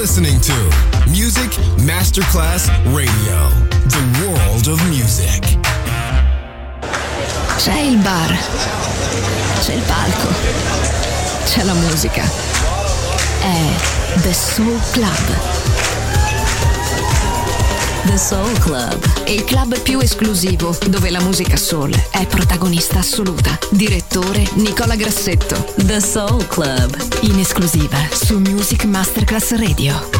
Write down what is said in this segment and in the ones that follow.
listening to Music Masterclass Radio, the world of music. C'è il bar, c'è il palco, c'è la musica. È The Soul Club. The Soul Club, il club più esclusivo dove la musica soul è protagonista assoluta. Direttore Nicola Grassetto. The Soul Club, in esclusiva su Music Masterclass Radio.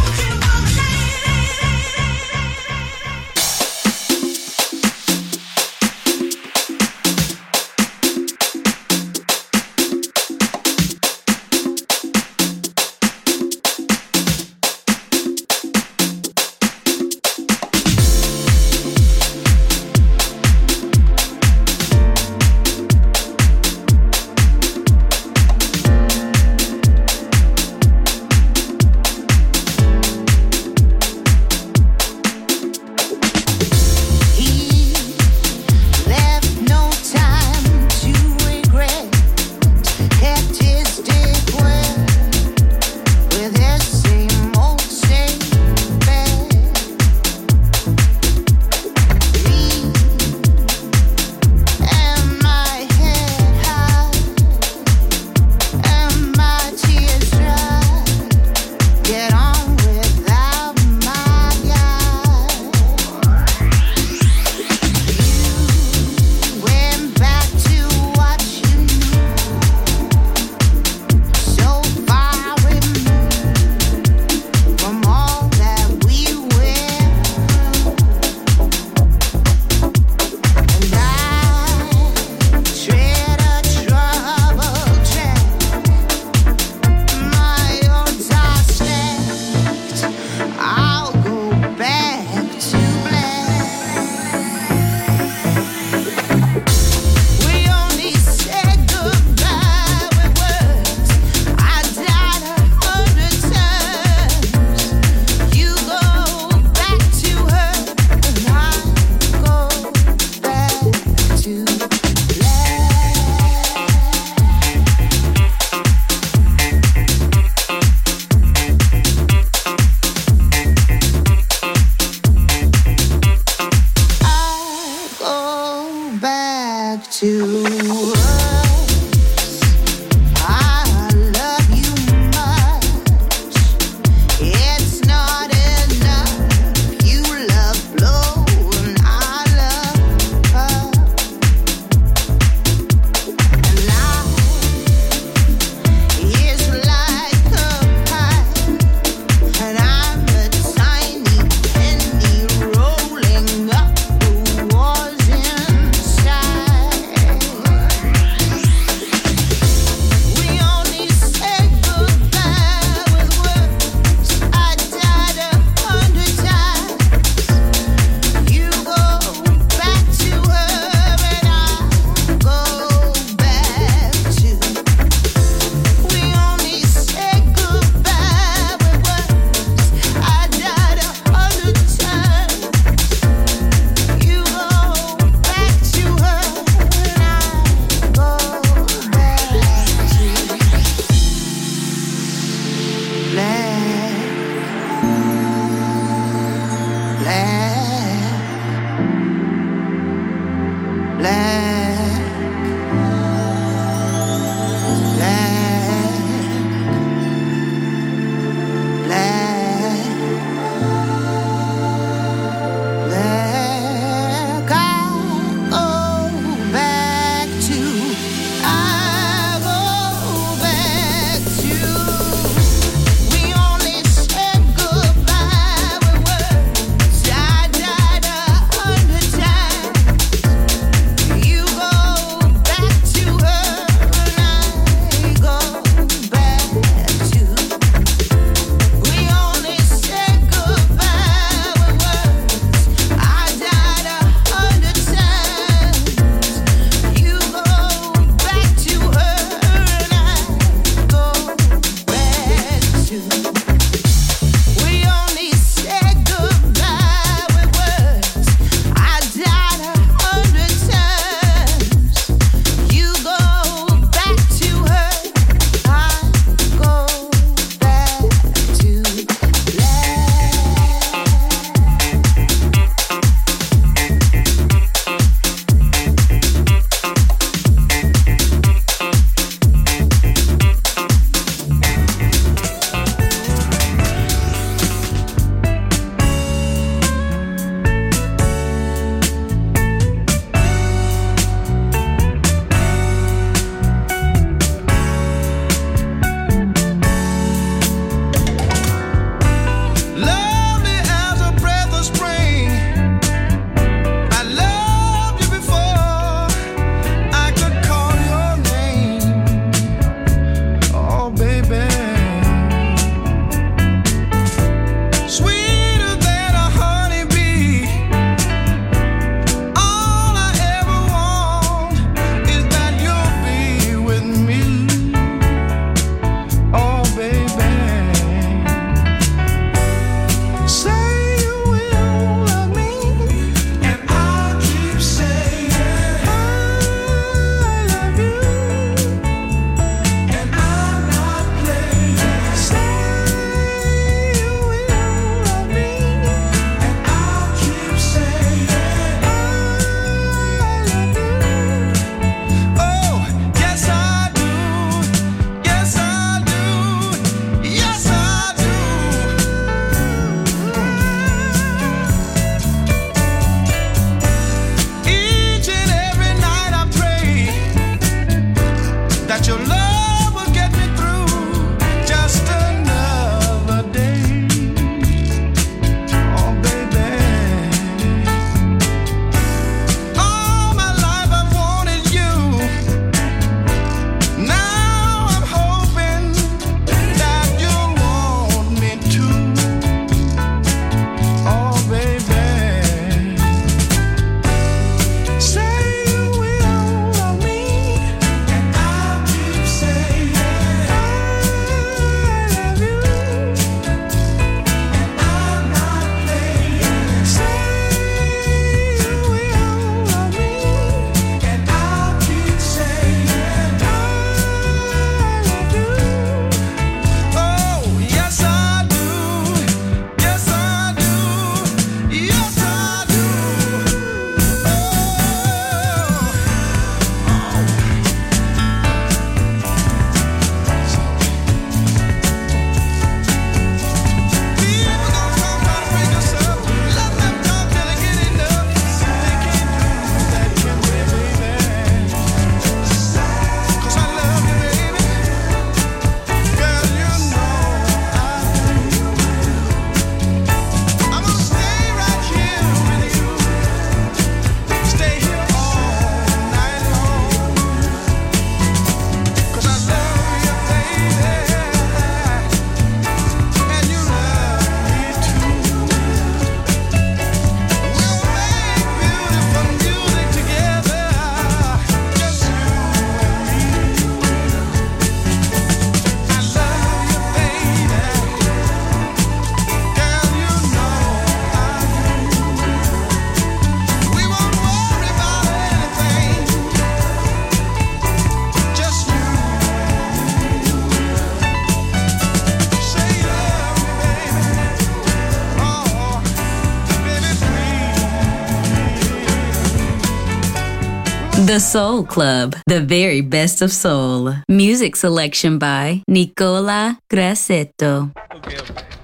The Soul Club, the very best of soul. Music selection by Nicola Grassetto. Okay.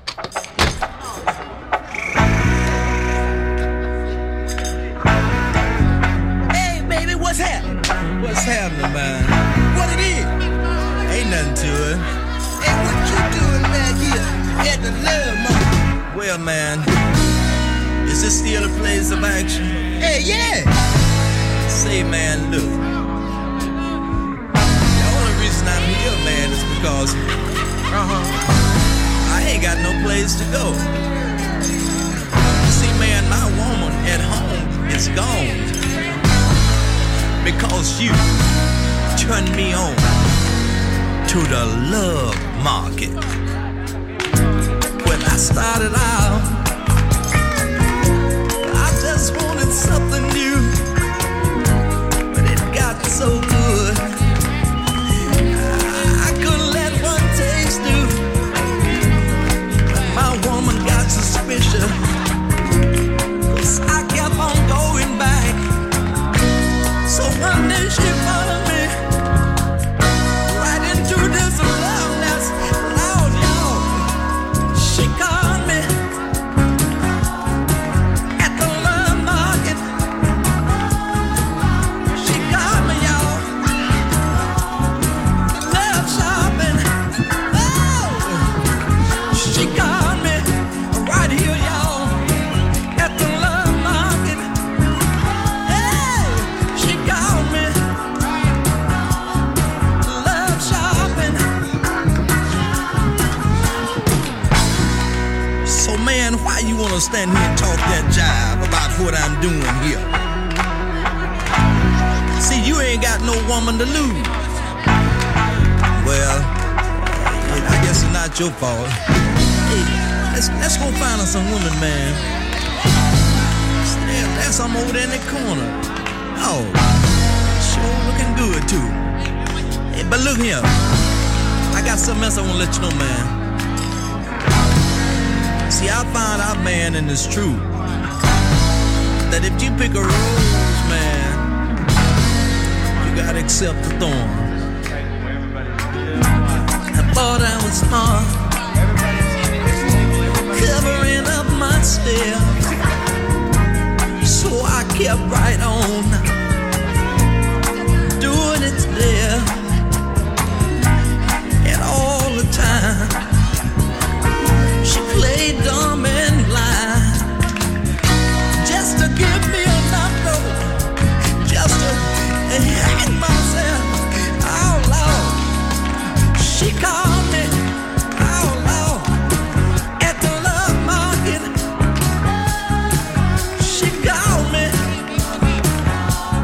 Hey, baby, what's happening? What's happening, man? What it is? Ain't nothing to it. Hey, what you doing back here at the Love Market? Well, man, is this still a place of action? Hey, yeah. Say, man, look. The only reason I'm here, man, is because I ain't got no place to go. See, man, my woman at home is gone because you turned me on to the love market. When I started out, I just wanted something new. So good, I couldn't let one taste do. My woman got suspicious, 'cause I kept on going back. So one day she followed me right into this love that's loud, y'all. She called me at the love market. Why you wanna stand here and talk that jive about what I'm doing here? See, you ain't got no woman to lose. Well, I guess it's not your fault. Hey, let's go find us some women, man. There's some over there in the corner. Oh, sure looking good too. Hey, but look here, I got something else I wanna let you know, man. See, I found out, man, and it's true, that if you pick a rose, man, you gotta accept the thorn. I thought I was smart, covering up my steps, so I kept right on doing it there, and all the time she played dumb and blind, just to give me enough rope, just to hang myself. Oh Lord, she called me, oh Lord, at the love market. She called me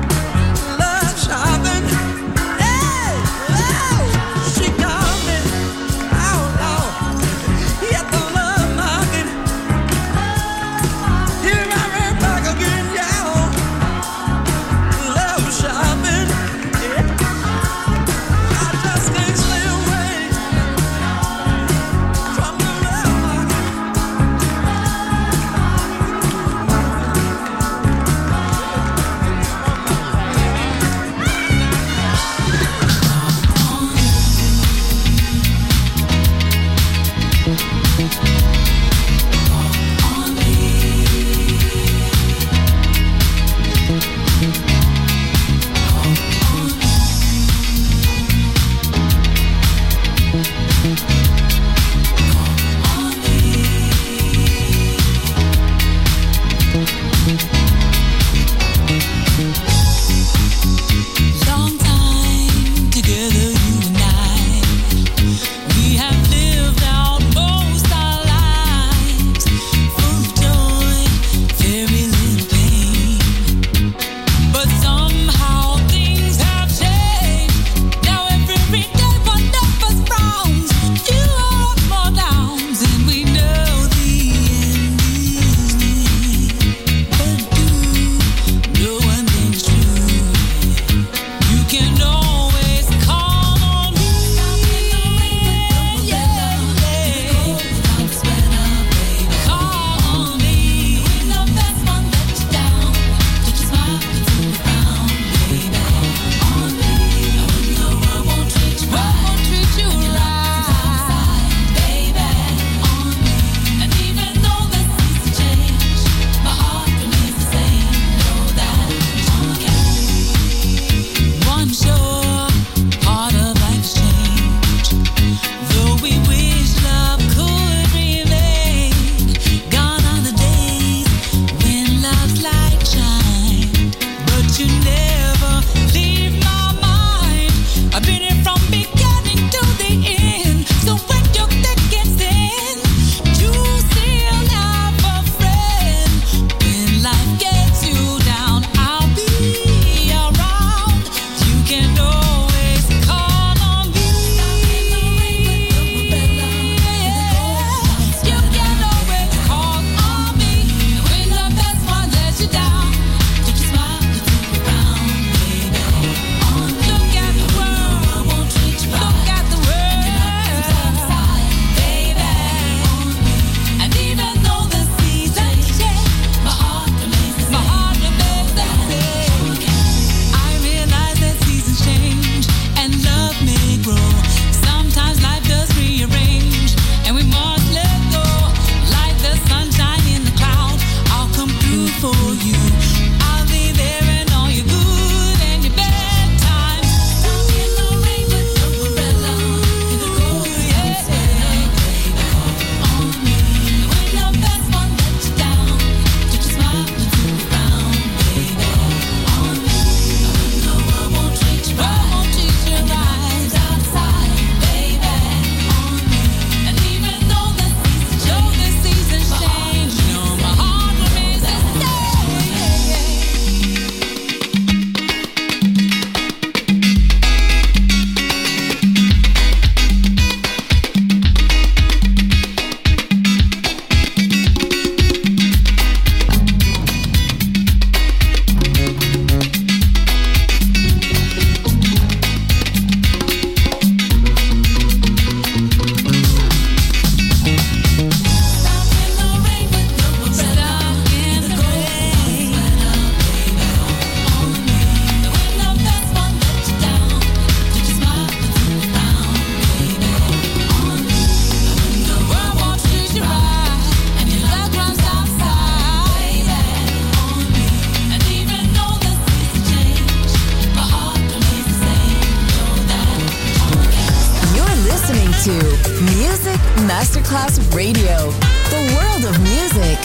Class Radio, the world of music.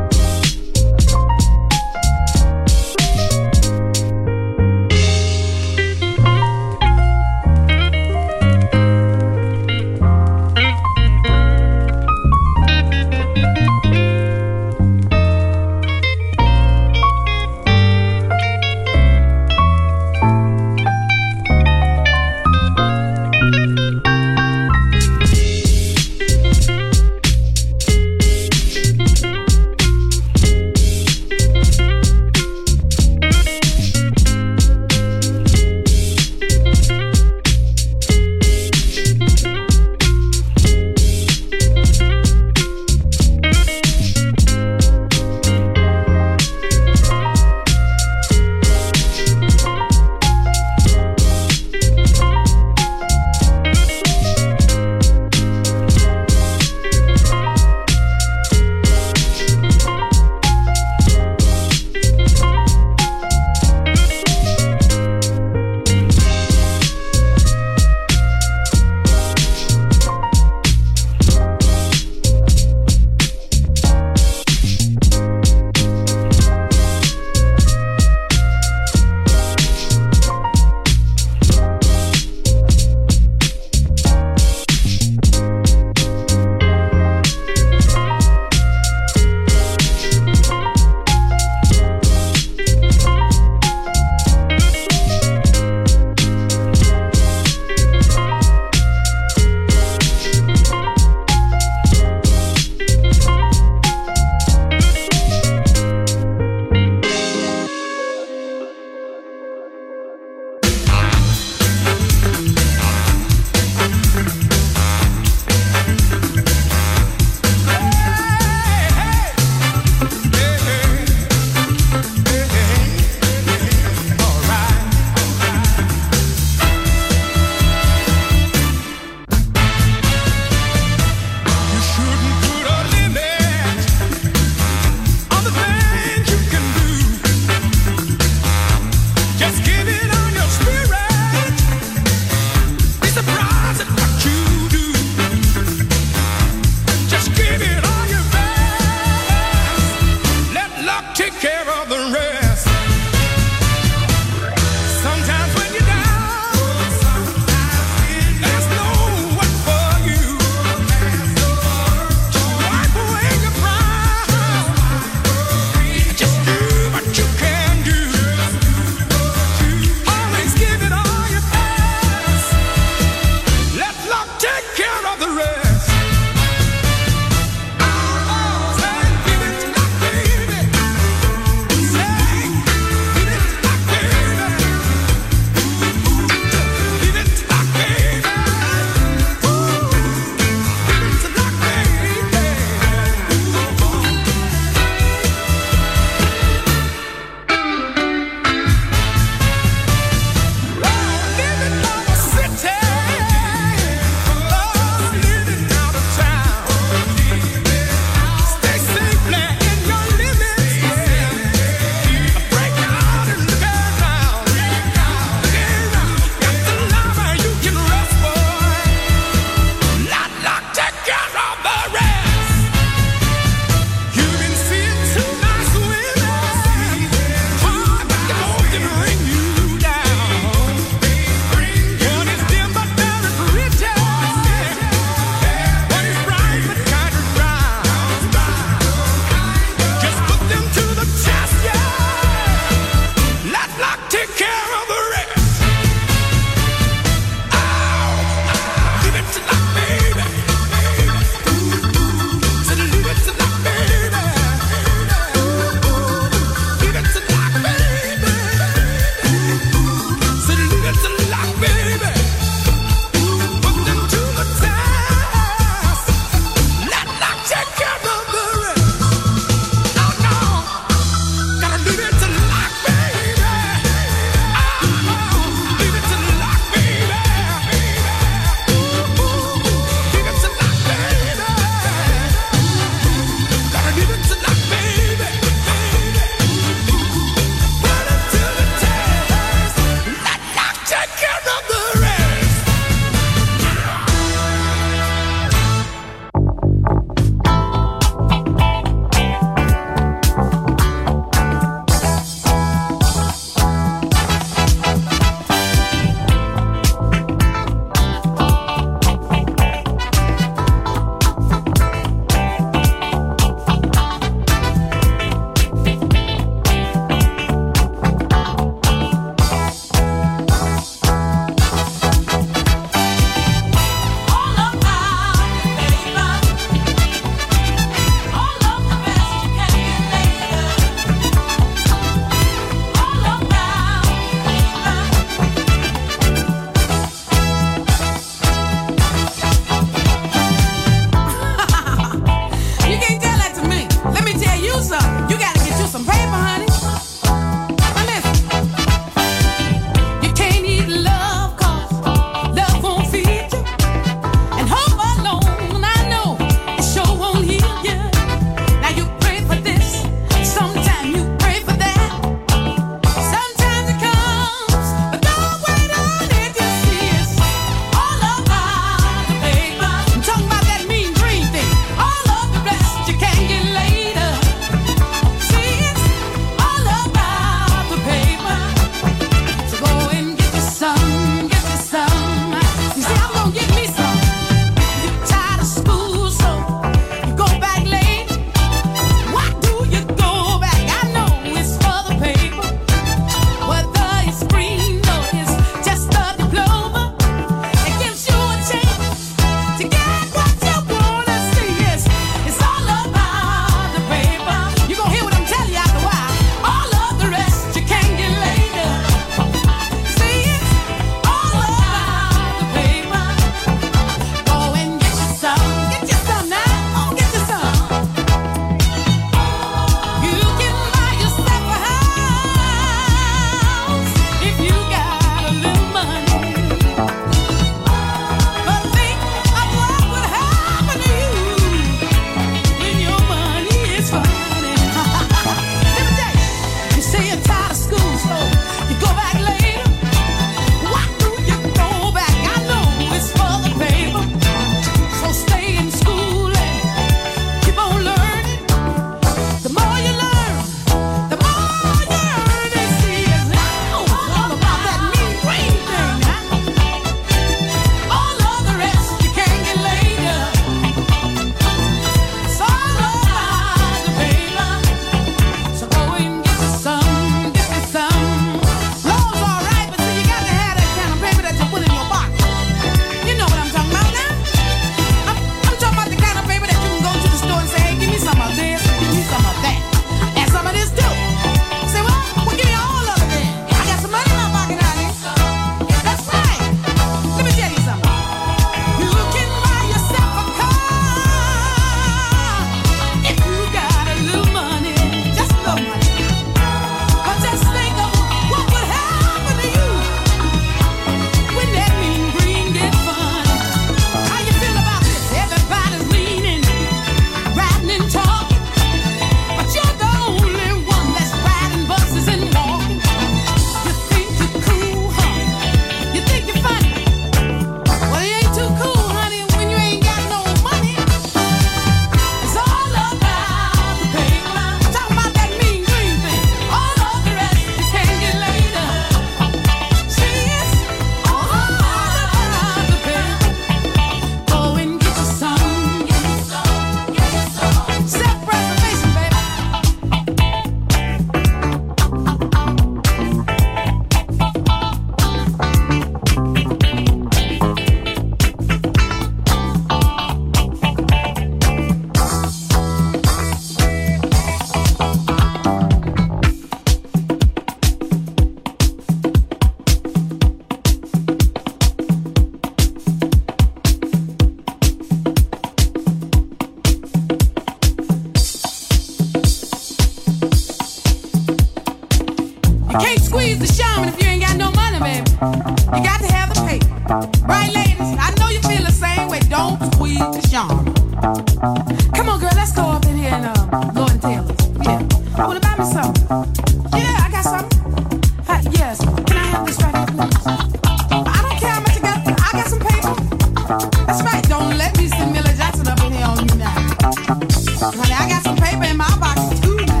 squeeze the shaman if you ain't got no money, baby. You got to have the paper. Right, ladies? I know you feel the same way. Don't squeeze the shaman. Come on, girl, let's go up in here and Lord & Taylor's. Yeah. I want to buy me something. Yeah, I got something. Yes. Can I have this right here, please? I don't care how much I got. I got some paper. That's right. Don't let me see Miller Jackson up in here on you now. Honey, I got some paper in my box too now.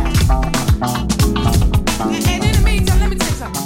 And in the meantime, let me tell you something.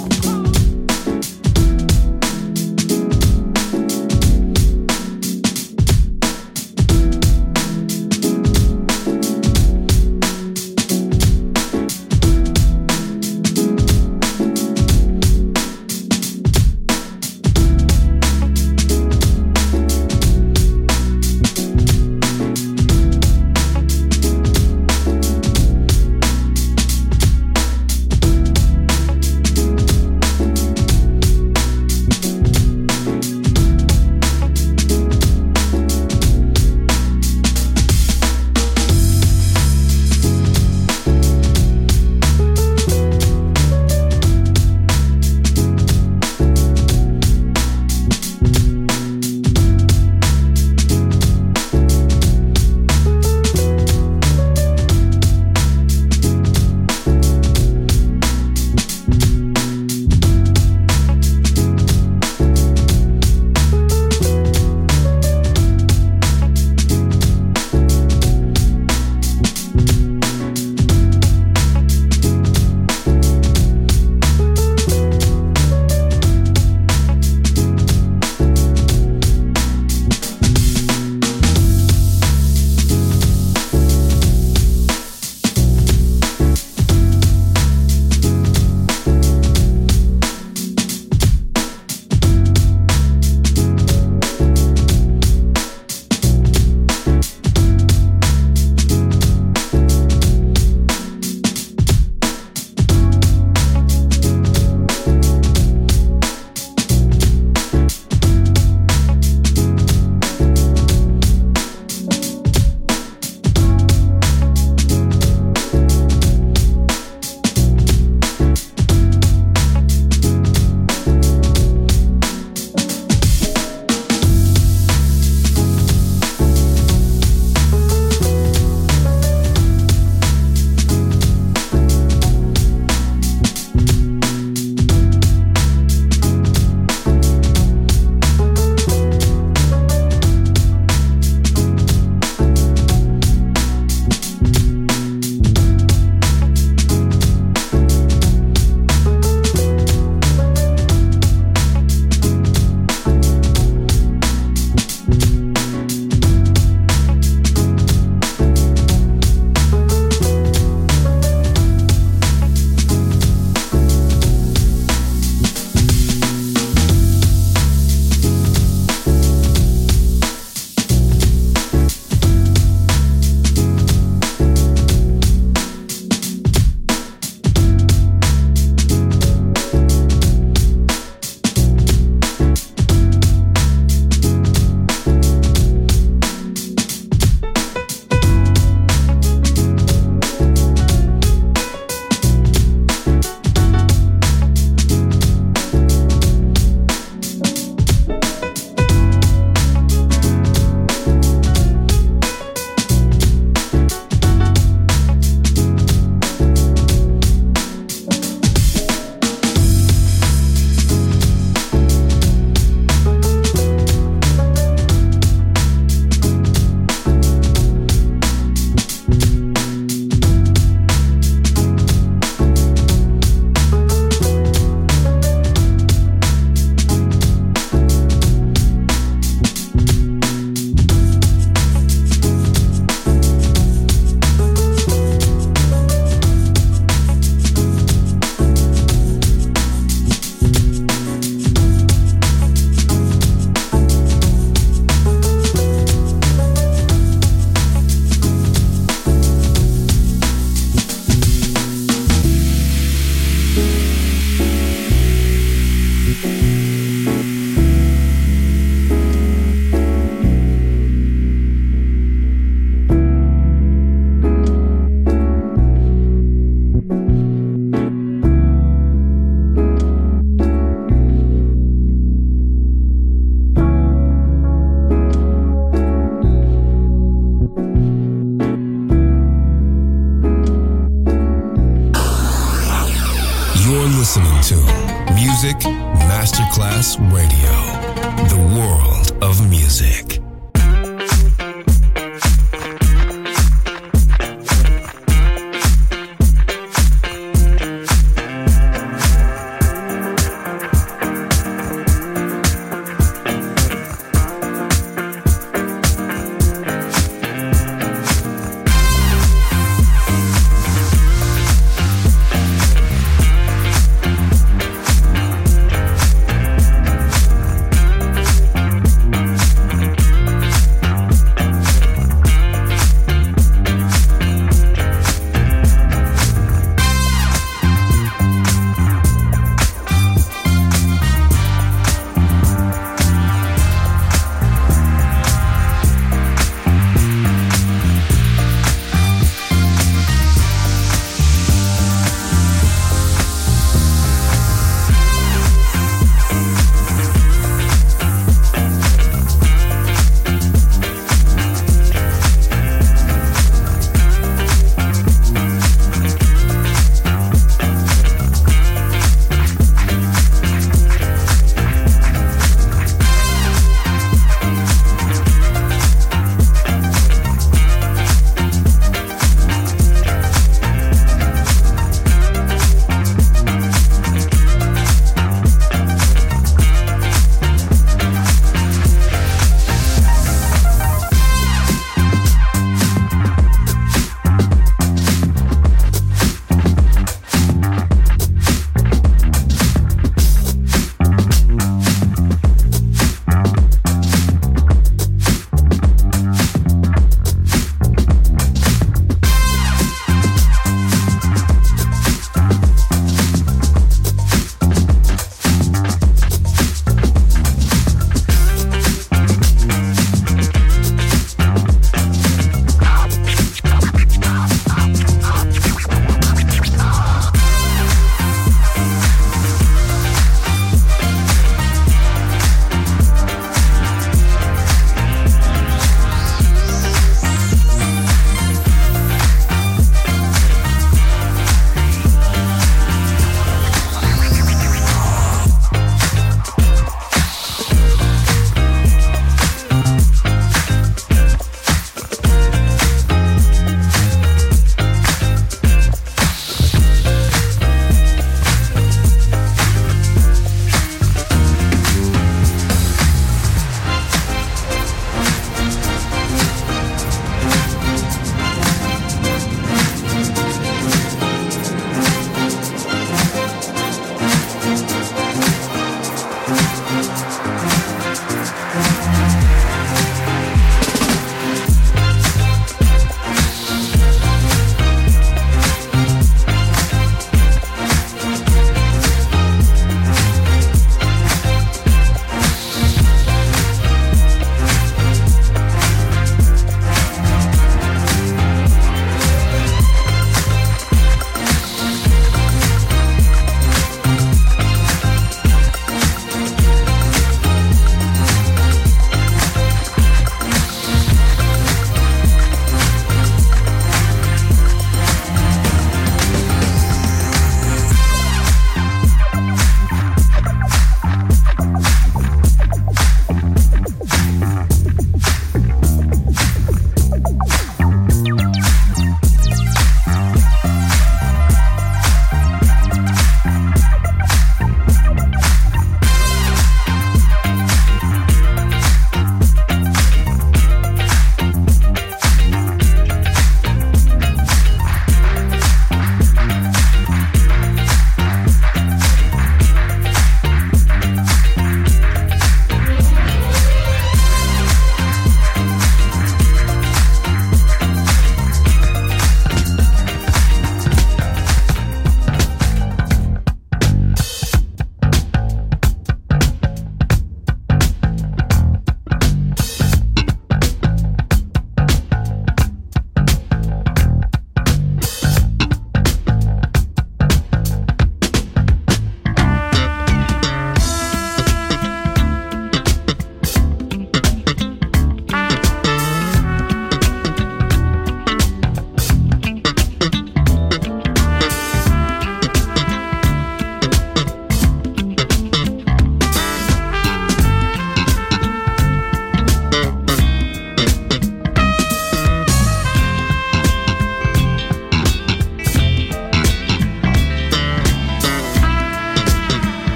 Music Masterclass Radio. The world of music.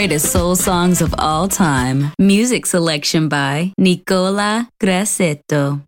greatest soul songs of all time. Music selection by Nicola Grassetto.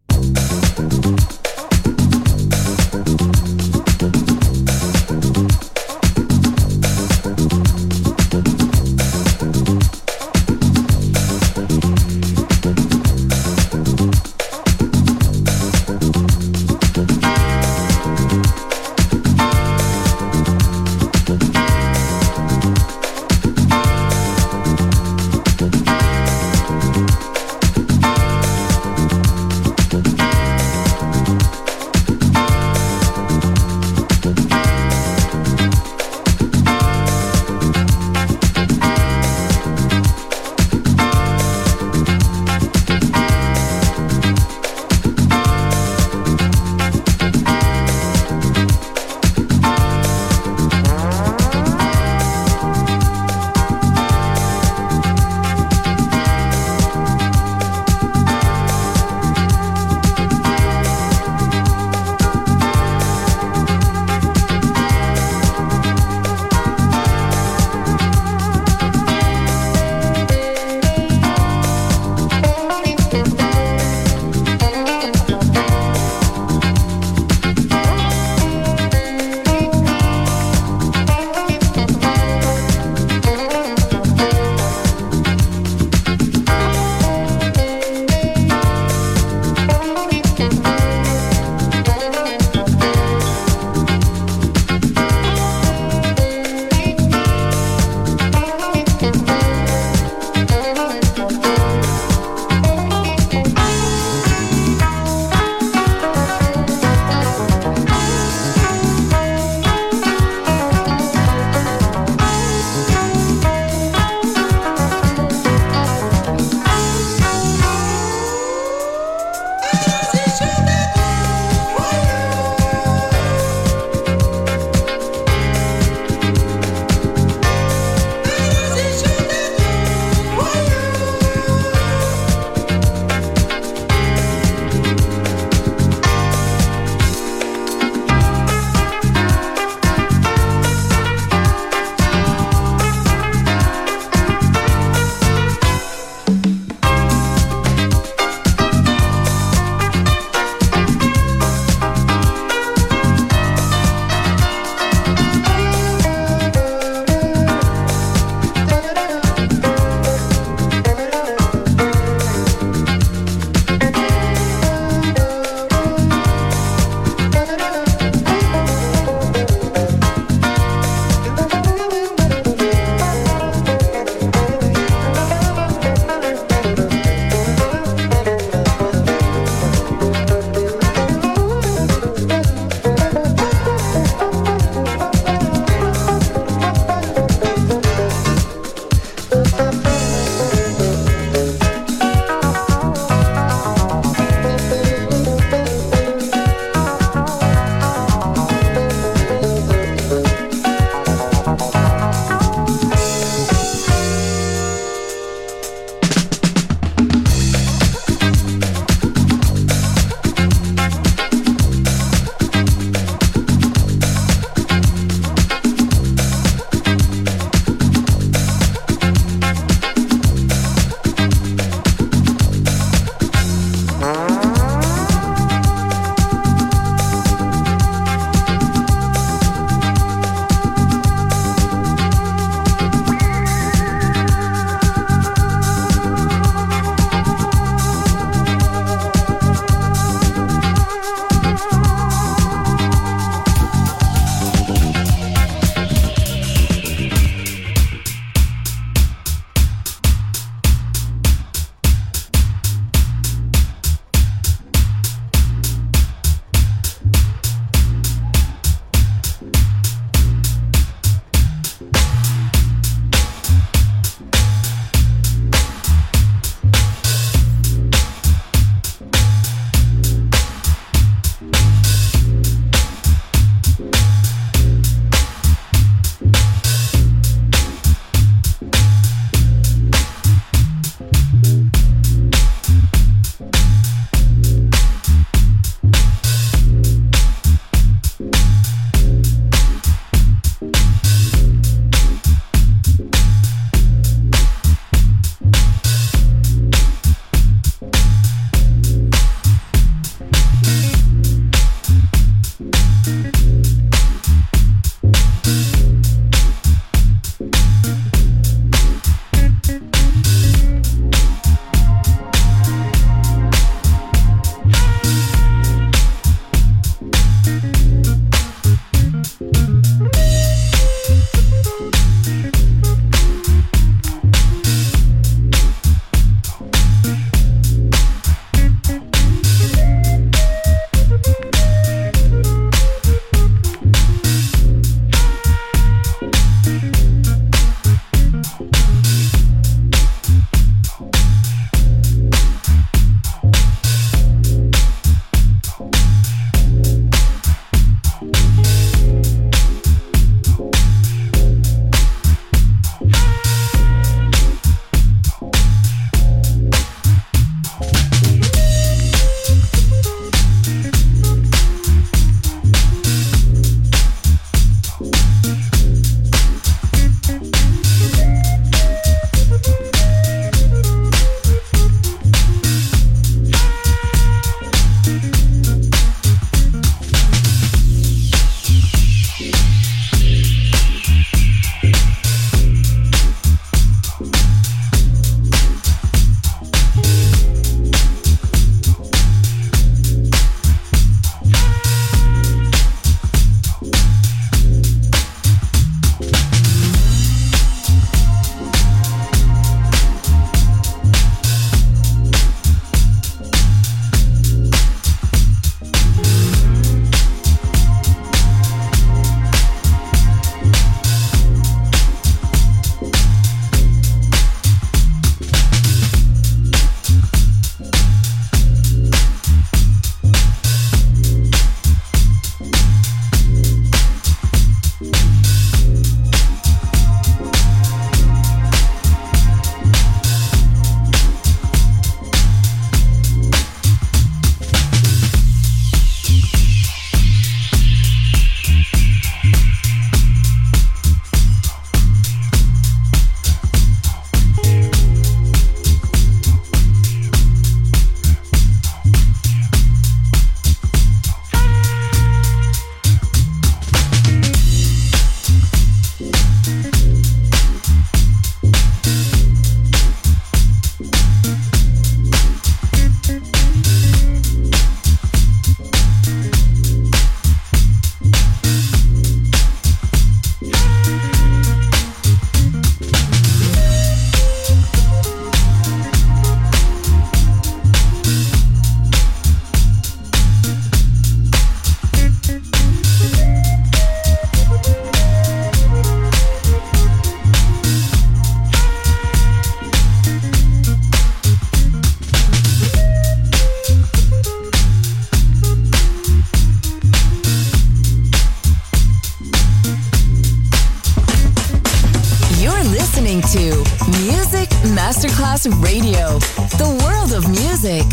Masterclass Radio, the world of music.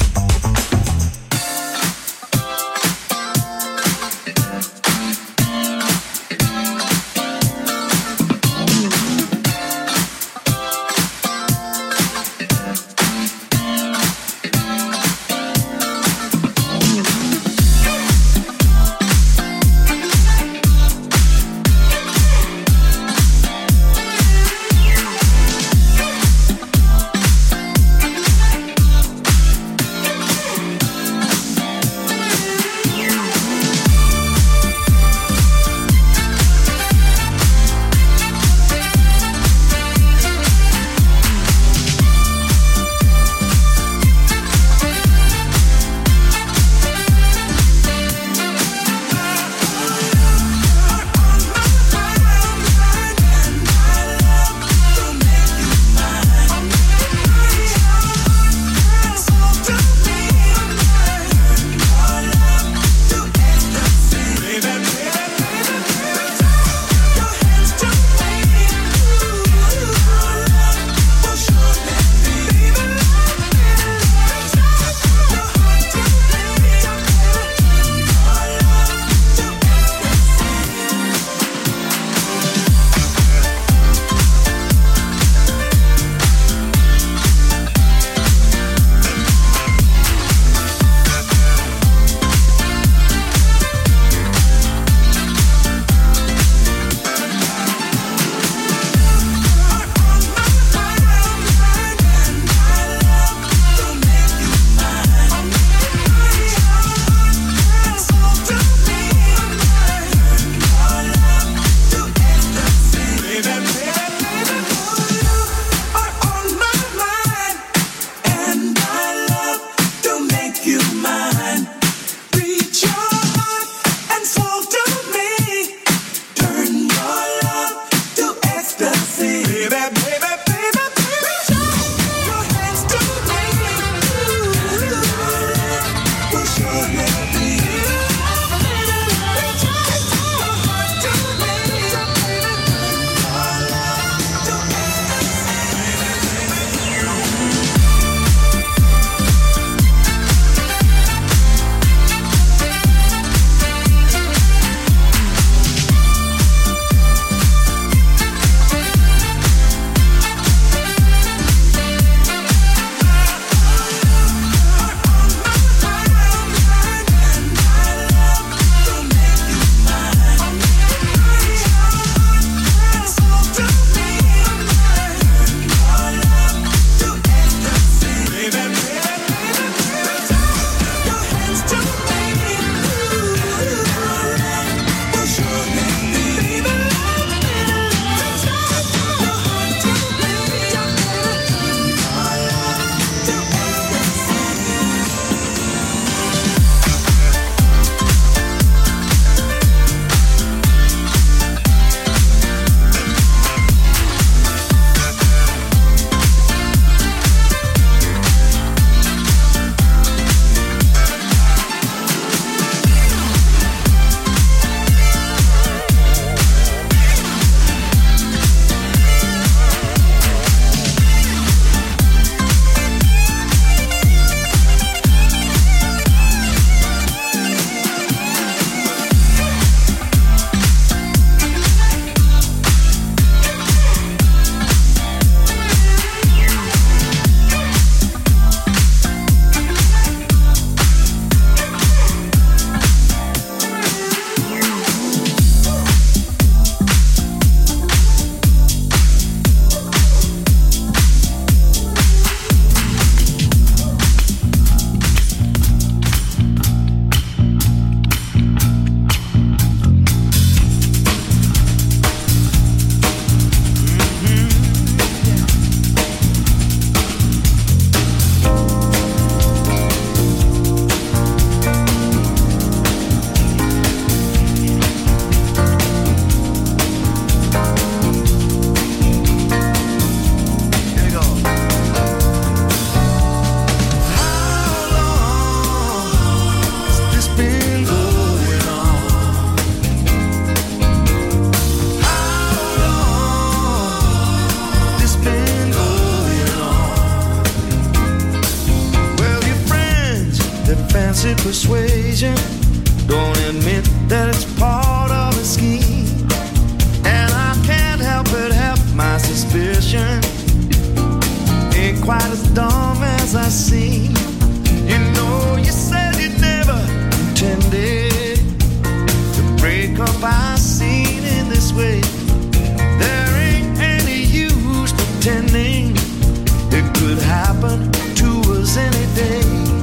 fancy persuasion. Don't admit that it's part of a scheme. And I can't help but have my suspicion. Ain't quite as dumb as I seem. You know, you said you never intended to break up our scene in this way. There ain't any use pretending it could happen to us any day.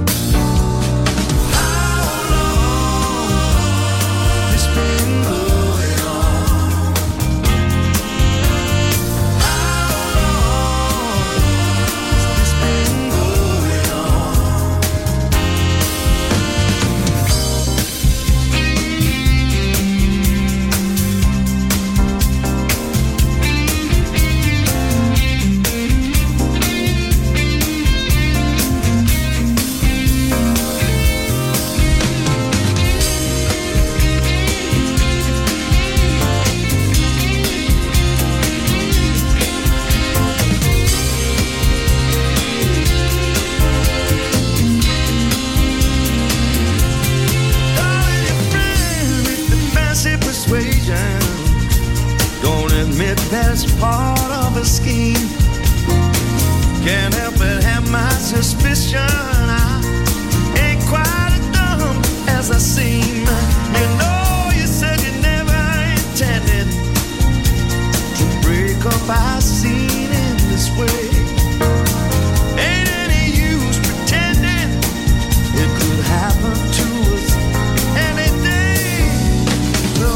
That's part of a scheme. Can't help but have my suspicion. I ain't quite as dumb as I seem. You know, you said you never intended to break up our scene in this way. Ain't any use pretending it could happen to us any day. So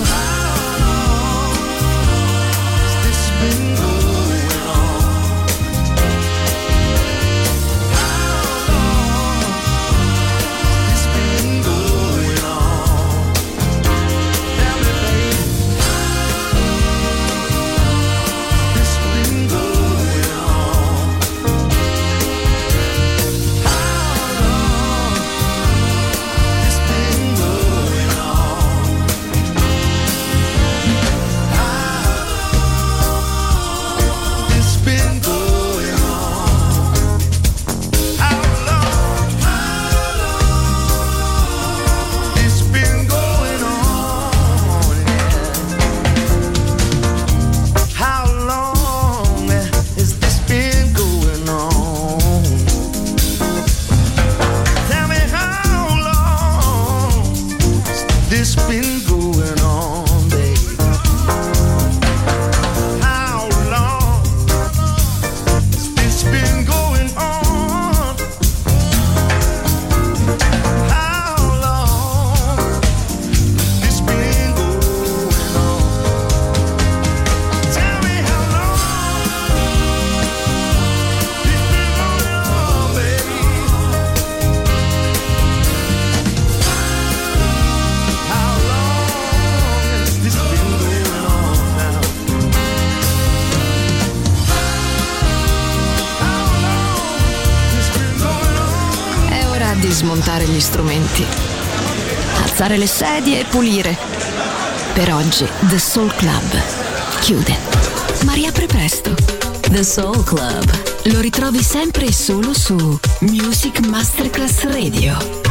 been going on? How long has this been going on? Tell me, baby, how long has this been going on? How long has this been going on? It's been going on. How long? It's been going on. Yeah. How long has this been going on? Tell me, how long has this been going on, baby? How long has this been going on? How long has this been going on? Tell me how long it's been going on, baby. How long has this been going on now? How long has this been going on? È ora di smontare gli strumenti, alzare le sedie e pulire. Per oggi The Soul Club chiude, ma riapre presto. The Soul Club. Lo ritrovi sempre e solo su Music Masterclass Radio.